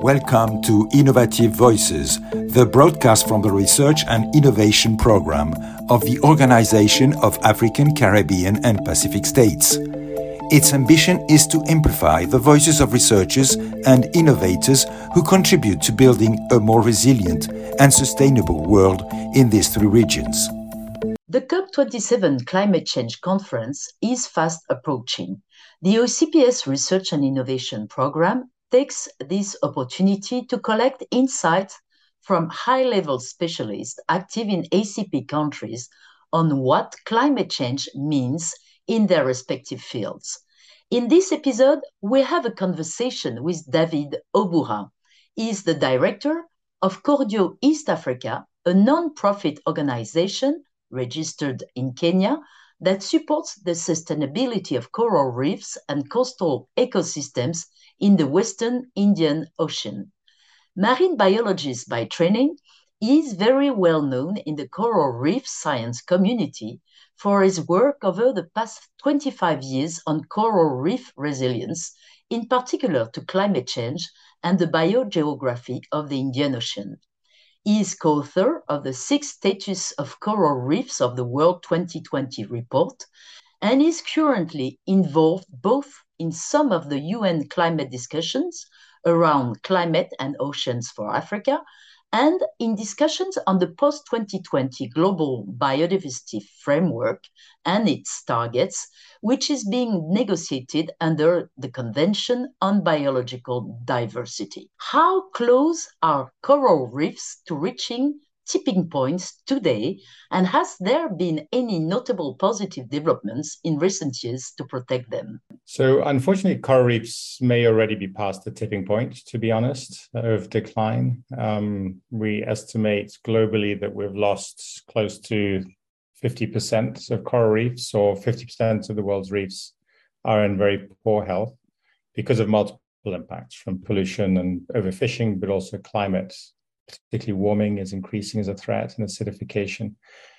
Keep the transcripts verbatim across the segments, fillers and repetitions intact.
Welcome to Innovative Voices, the broadcast from the Research and Innovation Program of the Organization of African, Caribbean and Pacific States. Its ambition is to amplify the voices of researchers and innovators who contribute to building a more resilient and sustainable world in these three regions. The COP twenty-seven Climate Change Conference is fast approaching. The O C P S Research and Innovation Program takes this opportunity to collect insights from high-level specialists active in A C P countries on what climate change means in their respective fields. In this episode, we have a conversation with David Obura. He is the director of Cordio East Africa, a non-profit organization registered in Kenya that supports the sustainability of coral reefs and coastal ecosystems in the Western Indian Ocean. Marine biologist by training, he is very well known in the coral reef science community for his work over the past twenty-five years on coral reef resilience, in particular to climate change and the biogeography of the Indian Ocean. He is co-author of the Sixth Status of Coral Reefs of the World twenty twenty report and is currently involved both in some of the U N climate discussions around climate and oceans for Africa and in discussions on the post twenty twenty Global Biodiversity Framework and its targets, which is being negotiated under the Convention on Biological Diversity. How close are coral reefs to reaching tipping points today, and has there been any notable positive developments in recent years to protect them? So unfortunately, coral reefs may already be past the tipping point, to be honest, of decline. Um, we estimate globally that we've lost close to fifty percent of coral reefs, or fifty percent of the world's reefs are in very poor health because of multiple impacts from pollution and overfishing, but also climate. Particularly warming is increasing as a threat, and acidification.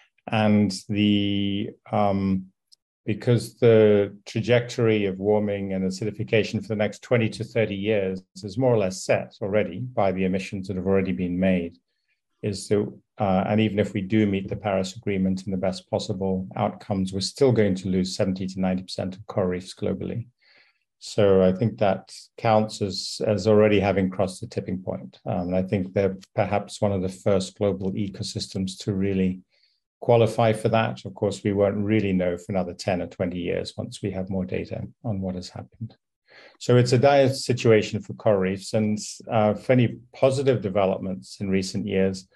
And the um, because the trajectory of warming and acidification for the next twenty to thirty years is more or less set already by the emissions that have already been made, is that, uh, and even if we do meet the Paris Agreement and the best possible outcomes, we're still going to lose seventy to ninety percent of coral reefs globally. So I think that counts as, as already having crossed the tipping point. Um, and I think they're perhaps one of the first global ecosystems to really qualify for that. Of course, we won't really know for another ten or twenty years once we have more data on what has happened. So it's a dire situation for coral reefs, and uh, for any positive developments in recent years.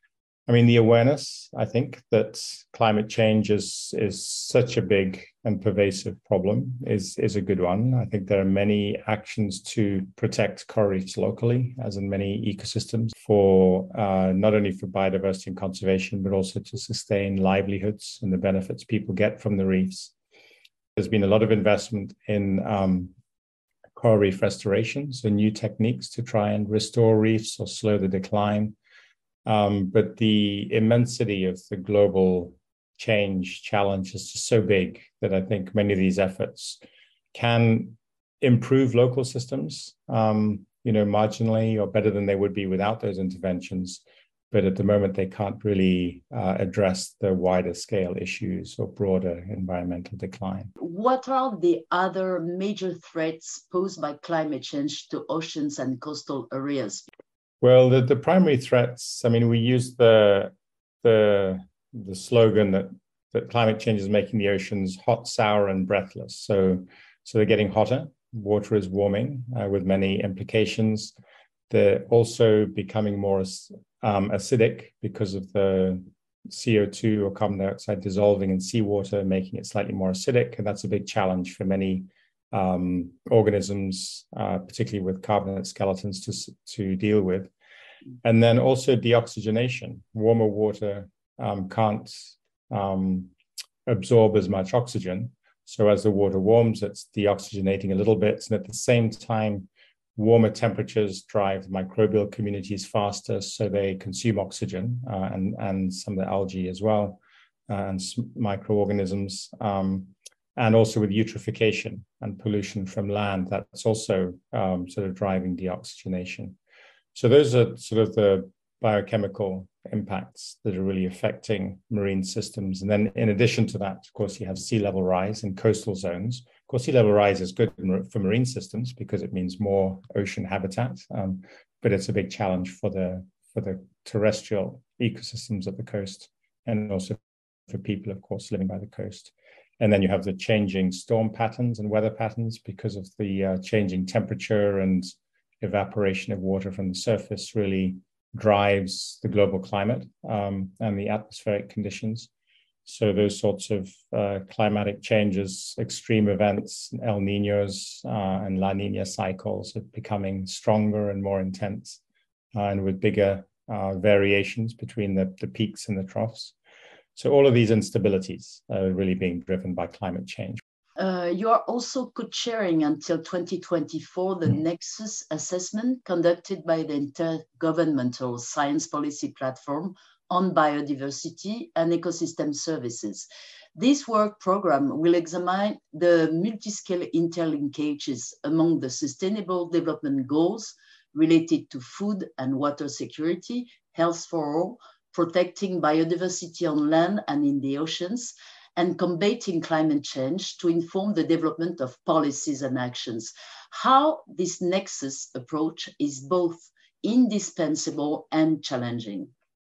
I mean, the awareness, I think, that climate change is, is such a big and pervasive problem is, is a good one. I think there are many actions to protect coral reefs locally, as in many ecosystems, for uh, not only for biodiversity and conservation, but also to sustain livelihoods and the benefits people get from the reefs. There's been a lot of investment in um, coral reef restoration, so new techniques to try and restore reefs or slow the decline. Um, but the immensity of the global change challenge is just so big that I think many of these efforts can improve local systems, um, you know, marginally or better than they would be without those interventions. But at the moment, they can't really uh, address the wider scale issues or broader environmental decline. What are the other major threats posed by climate change to oceans and coastal areas? Well, the, the primary threats, I mean, we use the, the, the slogan that, that climate change is making the oceans hot, sour, and breathless. So, so they're getting hotter. Water is warming uh, with many implications. They're also becoming more um, acidic because of the C O two or carbon dioxide dissolving in seawater, making it slightly more acidic. And that's a big challenge for many um, organisms, uh, particularly with carbonate skeletons, to, to deal with. And then also deoxygenation. Warmer water um, can't um, absorb as much oxygen. So as the water warms, it's deoxygenating a little bit. And at the same time, warmer temperatures drive microbial communities faster, so they consume oxygen uh, and, and some of the algae as well, uh, and microorganisms. Um, and also with eutrophication and pollution from land, that's also um, sort of driving deoxygenation. So those are sort of the biochemical impacts that are really affecting marine systems. And then in addition to that, of course, you have sea level rise in coastal zones. Of course, sea level rise is good for marine systems because it means more ocean habitat, um, but it's a big challenge for the, for the terrestrial ecosystems at the coast, and also for people, of course, living by the coast. And then you have the changing storm patterns and weather patterns because of the uh, changing temperature and evaporation of water from the surface really drives the global climate um, and the atmospheric conditions. So those sorts of uh, climatic changes, extreme events, El Niños uh, and La Niña cycles are becoming stronger and more intense uh, and with bigger uh, variations between the, the peaks and the troughs. So all of these instabilities are really being driven by climate change. Uh, you are also co-chairing until twenty twenty-four the mm. Nexus assessment conducted by the Intergovernmental Science Policy Platform on Biodiversity and Ecosystem Services. This work program will examine the multi-scale interlinkages among the Sustainable Development Goals related to food and water security, health for all, protecting biodiversity on land and in the oceans, and combating climate change to inform the development of policies and actions. How this Nexus approach is both indispensable and challenging.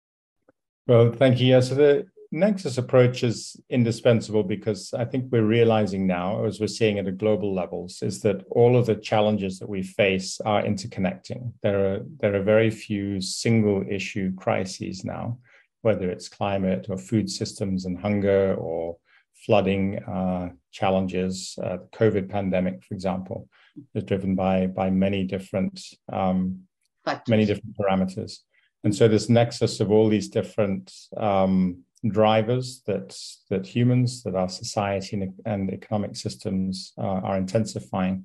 Well, thank you. Yeah, so the Nexus approach is indispensable because I think we're realizing now, as we're seeing at a global levels, is that all of the challenges that we face are interconnecting. There are, there are very few single issue crises now, whether it's climate or food systems and hunger or flooding uh, challenges. Uh, the COVID pandemic, for example, is driven by, by many different um, many different parameters. And so this nexus of all these different um, drivers that, that humans, that our society and, and economic systems uh, are intensifying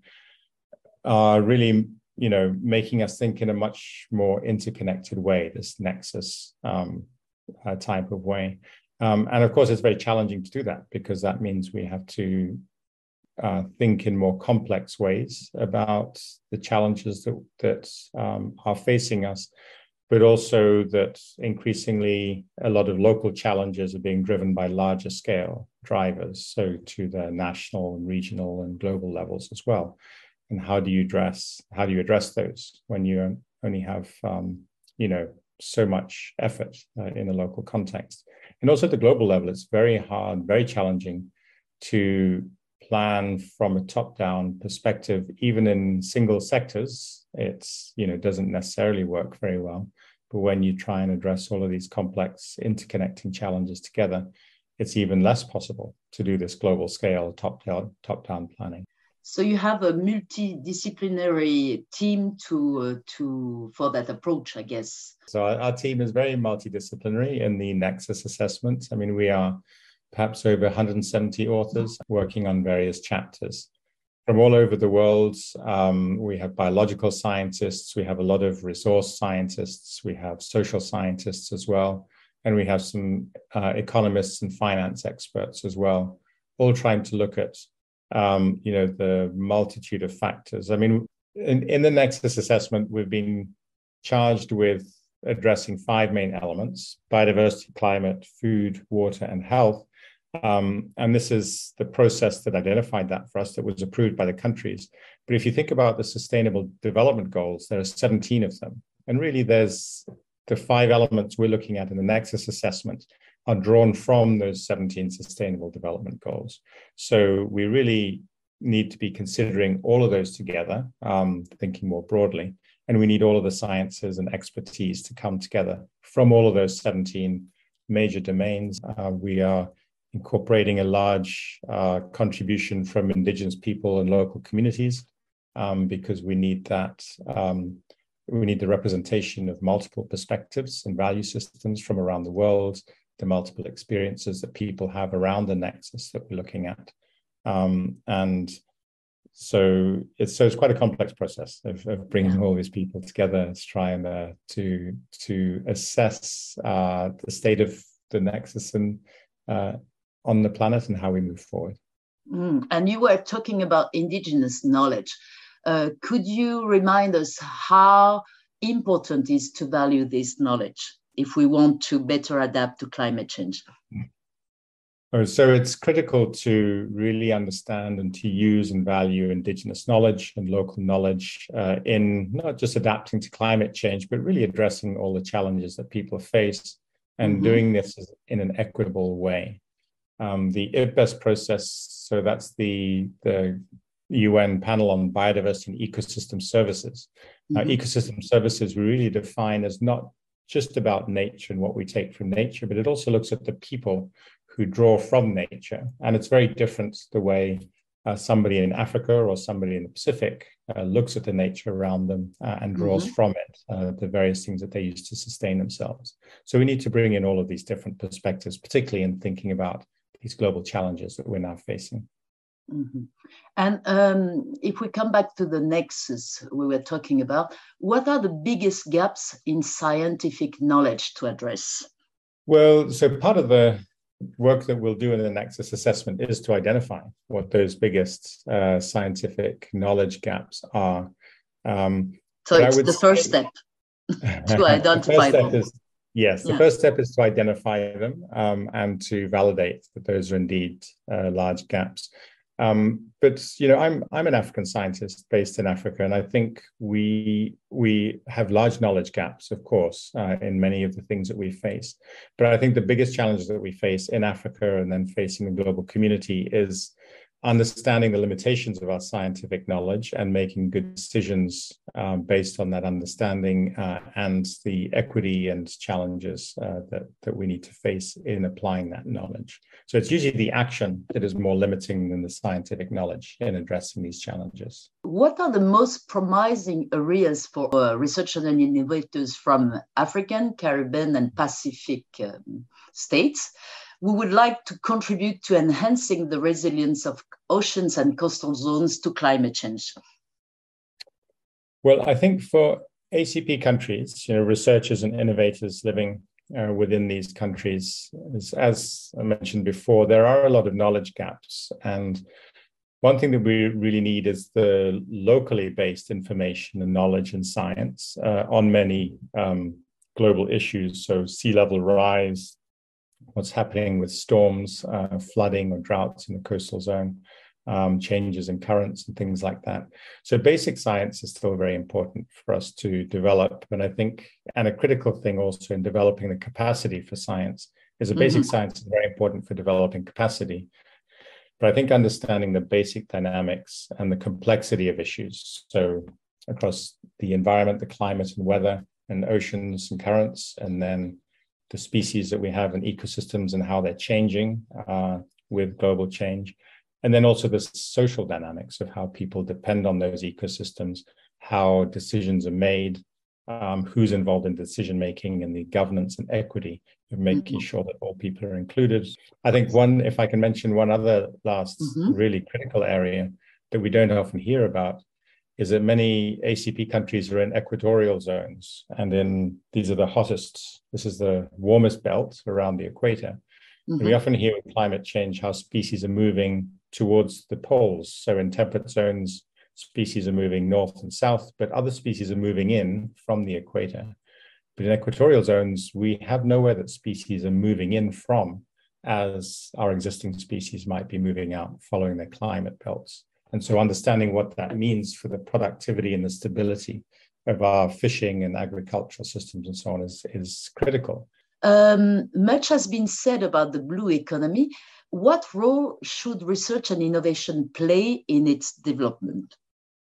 are really, you know, making us think in a much more interconnected way, this nexus um, uh, type of way. Um, and of course, it's very challenging to do that because that means we have to uh, think in more complex ways about the challenges that, that um, are facing us, but also that increasingly a lot of local challenges are being driven by larger scale drivers, so to the national and regional and global levels as well. And how do you address, how do you address those when you only have, um, you know, so much effort uh, in a local context? And also at the global level, it's very hard, very challenging to plan from a top-down perspective, even in single sectors. It's, you know, doesn't necessarily work very well. But when you try and address all of these complex interconnecting challenges together, it's even less possible to do this global scale top-down top-down planning. So you have a multidisciplinary team to uh, to for that approach, I guess. So our, our team is very multidisciplinary in the Nexus assessment. I mean, we are perhaps over one hundred seventy authors working on various chapters from all over the world. Um, we have biological scientists, we have a lot of resource scientists, we have social scientists as well, and we have some uh, economists and finance experts as well, all trying to look at um, you know, the multitude of factors. I mean, in, in the Nexus assessment, we've been charged with addressing five main elements: biodiversity, climate, food, water, and health. Um, and this is the process that identified that for us, that was approved by the countries. But if you think about the Sustainable Development Goals, there are seventeen of them. And really, there's the five elements we're looking at in the Nexus assessment are drawn from those seventeen Sustainable Development Goals. So we really need to be considering all of those together, um, thinking more broadly. And we need all of the sciences and expertise to come together from all of those seventeen major domains. Uh, we are incorporating a large uh, contribution from Indigenous people and local communities um, because we need that, um, we need the representation of multiple perspectives and value systems from around the world, the multiple experiences that people have around the nexus that we're looking at. Um, and so it's, so it's quite a complex process of, of bringing all these people together to try and uh, to, to assess uh, the state of the nexus and uh, on the planet and how we move forward. Mm, and you were talking about indigenous knowledge. Uh, could you remind us how important is to value this knowledge if we want to better adapt to climate change? Oh, so it's critical to really understand and to use and value Indigenous knowledge and local knowledge uh, in not just adapting to climate change, but really addressing all the challenges that people face and mm-hmm. doing this in an equitable way. Um, the I P B E S process, so that's the, the U N panel on biodiversity and ecosystem services. Mm-hmm. Uh, ecosystem services we really define as not just about nature and what we take from nature, but it also looks at the people who draw from nature. And it's very different the way uh, somebody in Africa or somebody in the Pacific uh, looks at the nature around them uh, and draws mm-hmm. from it, uh, the various things that they use to sustain themselves. So we need to bring in all of these different perspectives, particularly in thinking about these global challenges that we're now facing. Mm-hmm. And um, if we come back to the nexus we were talking about, what are the biggest gaps in scientific knowledge to address? Well, so part of the work that we'll do in the Nexus assessment is to identify what those biggest uh, scientific knowledge gaps are. Um, so it's the first step to identify them. Is, yes, the yeah. first step is to identify them um, and to validate that those are indeed uh, large gaps. Um, but you know, I'm I'm an African scientist based in Africa, and I think we we have large knowledge gaps, of course, uh, in many of the things that we face. But I think the biggest challenges that we face in Africa and then facing the global community is understanding the limitations of our scientific knowledge and making good decisions uh, based on that understanding uh, and the equity and challenges uh, that, that we need to face in applying that knowledge. So it's usually the action that is more limiting than the scientific knowledge in addressing these challenges. What are the most promising areas for uh, researchers and innovators from African, Caribbean, and Pacific um, states who would like to contribute to enhancing the resilience of oceans and coastal zones to climate change? Well, I think for A C P countries, you know, researchers and innovators living uh, within these countries, as, as I mentioned before, there are a lot of knowledge gaps. And one thing that we really need is the locally based information and knowledge and science uh, on many um, global issues. So sea level rise, what's happening with storms, uh, flooding or droughts in the coastal zone, um, changes in currents and things like that. So basic science is still very important for us to develop. And I think, and a critical thing also in developing the capacity for science is that basic mm-hmm. science is very important for developing capacity. But I think understanding the basic dynamics and the complexity of issues, so across the environment, the climate and weather and oceans and currents, and then the species that we have in ecosystems and how they're changing uh, with global change. And then also the social dynamics of how people depend on those ecosystems, how decisions are made, um, who's involved in decision-making and the governance and equity of making mm-hmm. sure that all people are included. I think one, if I can mention one other last mm-hmm. really critical area that we don't often hear about, is that many A C P countries are in equatorial zones, and in these are the hottest, this is the warmest belt around the equator. Mm-hmm. And we often hear with climate change how species are moving towards the poles. So in temperate zones, species are moving north and south, but other species are moving in from the equator. But in equatorial zones, we have nowhere that species are moving in from, as our existing species might be moving out following their climate belts. And so understanding what that means for the productivity and the stability of our fishing and agricultural systems and so on is, is critical. Um, much has been said about the blue economy. What role should research and innovation play in its development?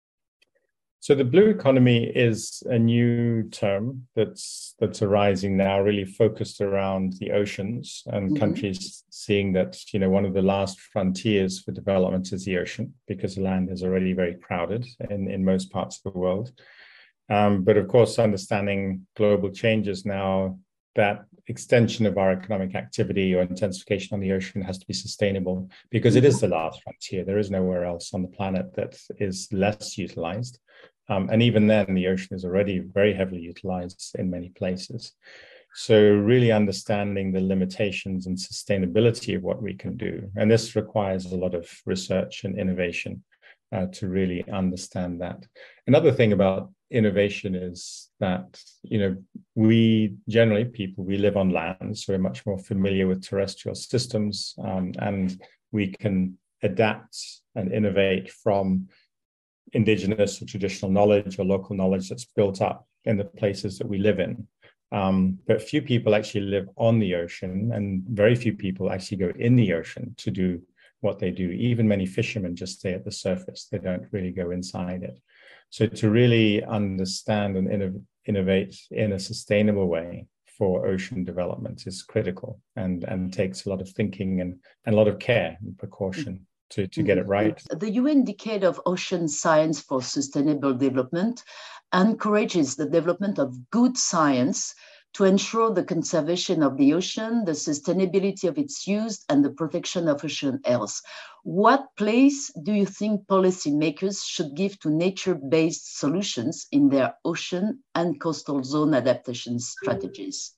So the blue economy is a new term that's that's arising now, really focused around the oceans and mm-hmm. countries seeing that, you know, one of the last frontiers for development is the ocean, because the land is already very crowded in, in most parts of the world. Um, but of course, understanding global changes now, that extension of our economic activity or intensification on the ocean has to be sustainable, because it is the last frontier. There is nowhere else on the planet that is less utilized. Um, and even then, the ocean is already very heavily utilized in many places. So really understanding the limitations and sustainability of what we can do. And this requires a lot of research and innovation uh, to really understand that. Another thing about innovation is that, you know, we generally, people, we live on land, so we're much more familiar with terrestrial systems, um, and we can adapt and innovate from indigenous or traditional knowledge or local knowledge that's built up in the places that we live in. Um, but few people actually live on the ocean, and very few people actually go in the ocean to do what they do. Even many fishermen just stay at the surface. They don't really go inside it. So to really understand and inno- innovate in a sustainable way for ocean development is critical, and, and takes a lot of thinking and, and a lot of care and precaution to, to get it right. The U N Decade of Ocean Science for Sustainable Development encourages the development of good science to ensure the conservation of the ocean, the sustainability of its use, and the protection of ocean health. What place do you think policymakers should give to nature-based solutions in their ocean and coastal zone adaptation strategies?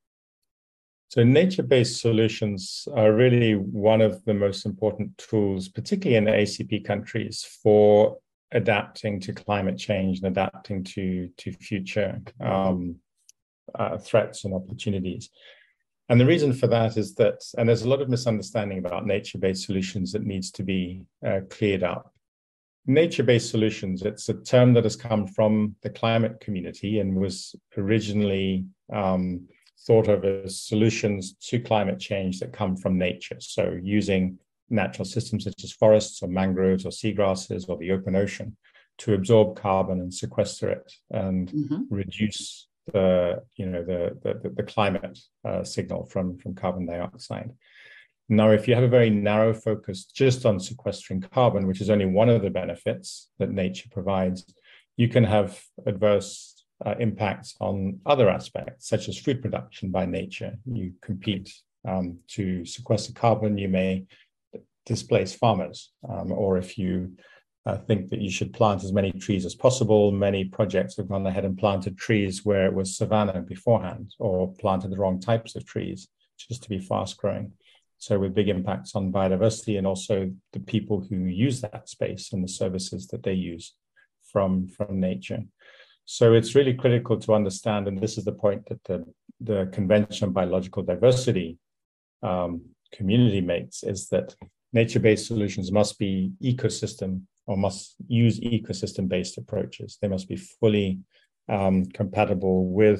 So nature-based solutions are really one of the most important tools, particularly in the A C P countries, for adapting to climate change and adapting to, to future um, uh, threats and opportunities. And the reason for that is that, and there's a lot of misunderstanding about nature-based solutions that needs to be uh, cleared up. Nature-based solutions, it's a term that has come from the climate community and was originally um, thought of as solutions to climate change that come from nature. So using natural systems such as forests or mangroves or seagrasses or the open ocean to absorb carbon and sequester it and mm-hmm. reduce the, you know, the, the, the climate uh, signal from, from carbon dioxide. Now, if you have a very narrow focus just on sequestering carbon, which is only one of the benefits that nature provides, you can have adverse Uh, impacts on other aspects, such as food production by nature. You compete um, to sequester carbon, you may displace farmers. Um, or if you uh, think that you should plant as many trees as possible, many projects have gone ahead and planted trees where it was savanna beforehand, or planted the wrong types of trees just to be fast growing. So with big impacts on biodiversity and also the people who use that space and the services that they use from, from nature. So it's really critical to understand, and this is the point that the, the Convention on Biological Diversity um, community makes, is that nature-based solutions must be ecosystem or must use ecosystem-based approaches. They must be fully um, compatible with,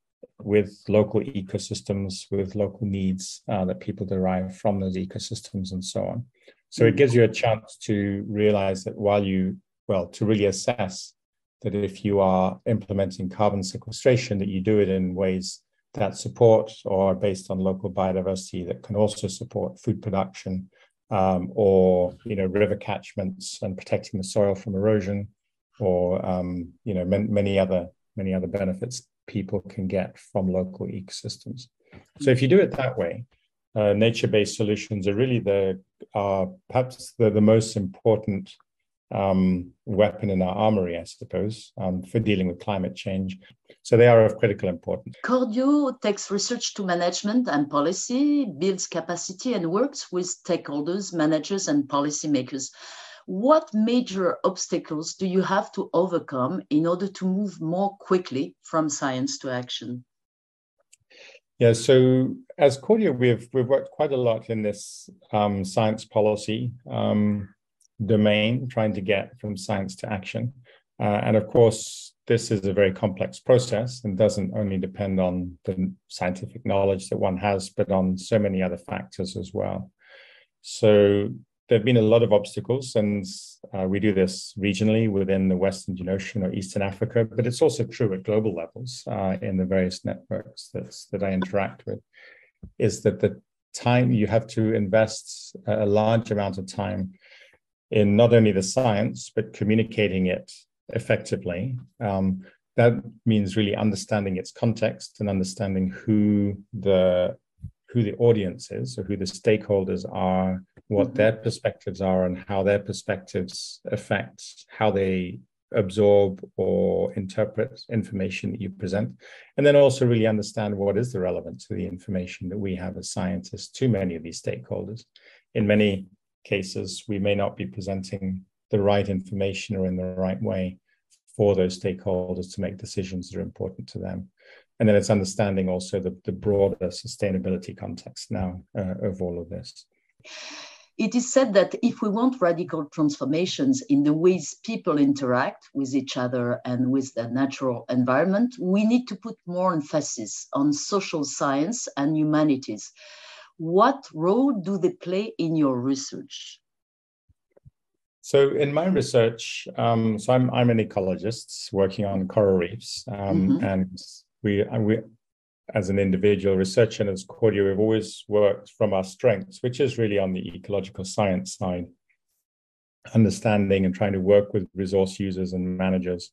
with local ecosystems, with local needs uh, that people derive from those ecosystems and so on. So it gives you a chance to realize that while you, well, to really assess that if you are implementing carbon sequestration, that you do it in ways that support or are based on local biodiversity that can also support food production um, or, you know, river catchments and protecting the soil from erosion, or, um, you know, man, many other many other benefits people can get from local ecosystems. So if you do it that way, uh, nature-based solutions are really the uh, perhaps the, the most important um, weapon in our armory, I suppose, um, for dealing with climate change. So they are of critical importance. Cordio takes research to management and policy, builds capacity, and works with stakeholders, managers, and policymakers. What major obstacles do you have to overcome in order to move more quickly from science to action? Yeah, so as Cordio, we've we've worked quite a lot in this um, science policy um, domain, trying to get from science to action. Uh, and of course, this is a very complex process and doesn't only depend on the scientific knowledge that one has, but on so many other factors as well. So there have been a lot of obstacles, and uh, we do this regionally within the Western Indian Ocean or Eastern Africa, but it's also true at global levels uh, in the various networks that's, that I interact with, is that the time you have to invest a large amount of time in not only the science, but communicating it effectively. Um, that means really understanding its context and understanding who the who the audience is, or who the stakeholders are, what mm-hmm. their perspectives are, and how their perspectives affect how they absorb or interpret information that you present. And then also really understand what is the relevance of the information that we have as scientists to many of these stakeholders. In many cases, we may not be presenting the right information or in the right way for those stakeholders to make decisions that are important to them. And then it's understanding also the, the broader sustainability context now uh, of all of this. It is said that if we want radical transformations in the ways people interact with each other and with their natural environment, we need to put more emphasis on social science and humanities. What role do they play in your research? So in my research, um, so I'm, I'm an ecologist working on coral reefs, um, mm-hmm. and we, we, as an individual researcher and as Cordia, we've always worked from our strengths, which is really on the ecological science side, understanding and trying to work with resource users and managers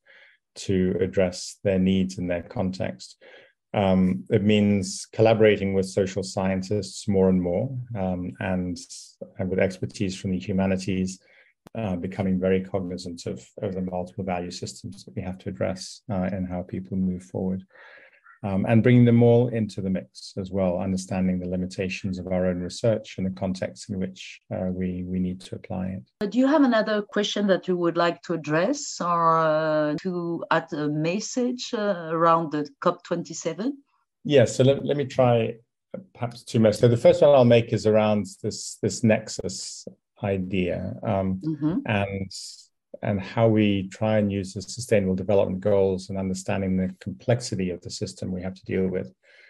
to address their needs in their context. Um, it means collaborating with social scientists more and more, um, and, and with expertise from the humanities, uh, becoming very cognizant of, of the multiple value systems that we have to address uh, and how people move forward. Um, and bringing them all into the mix as well, understanding the limitations of our own research and the context in which uh, we, we need to apply it. Do you have another question that you would like to address or uh, to add a message uh, around the COP twenty-seven? Yes, yeah, so let, let me try perhaps two messages. So the first one I'll make is around this, this nexus idea um, mm-hmm. and and how we try and use the sustainable development goals and understanding the complexity of the system we have to deal with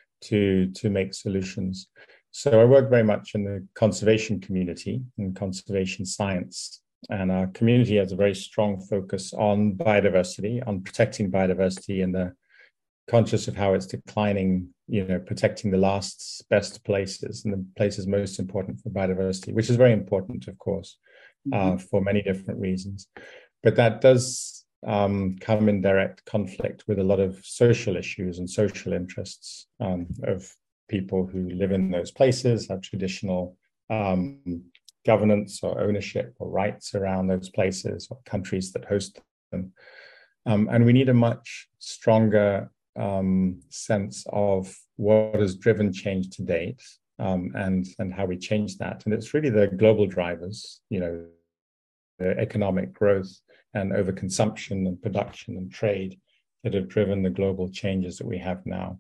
to, to make solutions. So I work very much in the conservation community and conservation science. And our community has a very strong focus on biodiversity, on protecting biodiversity and the conscious of how it's declining, you know, protecting the last best places and the places most important for biodiversity, which is very important, of course. Uh, for many different reasons. But that does um, come in direct conflict with a lot of social issues and social interests um, of people who live in those places, have traditional um, governance or ownership or rights around those places or countries that host them. Um, and we need a much stronger um, sense of what has driven change to date. Um, and, and how we change that. And it's really the global drivers, you know, the economic growth and overconsumption and production and trade that have driven the global changes that we have now.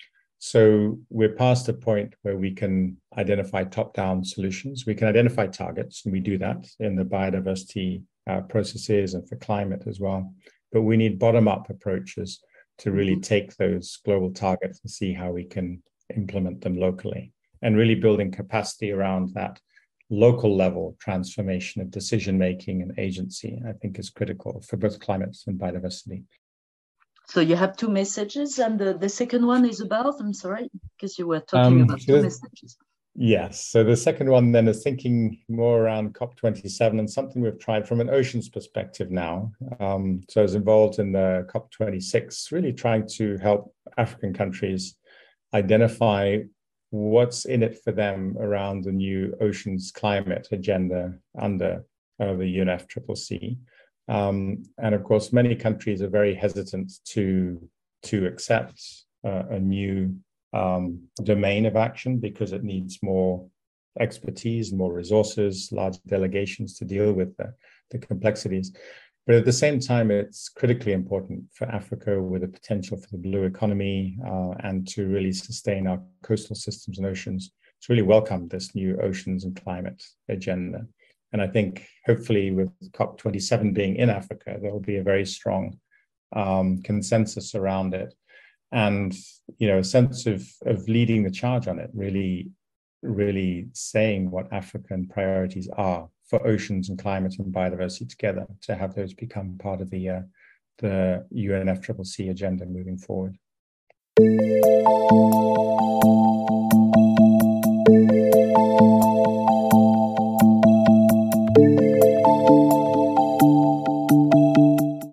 So we're past a point where we can identify top-down solutions. We can identify targets, and we do that in the biodiversity uh, processes and for climate as well. But we need bottom-up approaches to really take those global targets and see how we can implement them locally. And really building capacity around that local level transformation of decision-making and agency, I think is critical for both climate and biodiversity. So you have two messages, and the, the second one is about, I'm sorry, because you were talking um, about two messages. Yes, so the second one then is thinking more around COP twenty-seven and something we've tried from an oceans perspective now. Um, so I was involved in the COP twenty-six, really trying to help African countries identify what's in it for them around the new oceans climate agenda under uh, the U N F C C C. Um, and of course, many countries are very hesitant to, to accept uh, a new um, domain of action because it needs more expertise, more resources, large delegations to deal with the, the complexities. But at the same time, it's critically important for Africa with the potential for the blue economy uh, and to really sustain our coastal systems and oceans to really welcome this new oceans and climate agenda. And I think hopefully with COP twenty-seven being in Africa, there will be a very strong um, consensus around it and, you know, a sense of, of leading the charge on it, really, really saying what African priorities are for oceans and climate and biodiversity together, to have those become part of the uh, the U N F C C C agenda moving forward.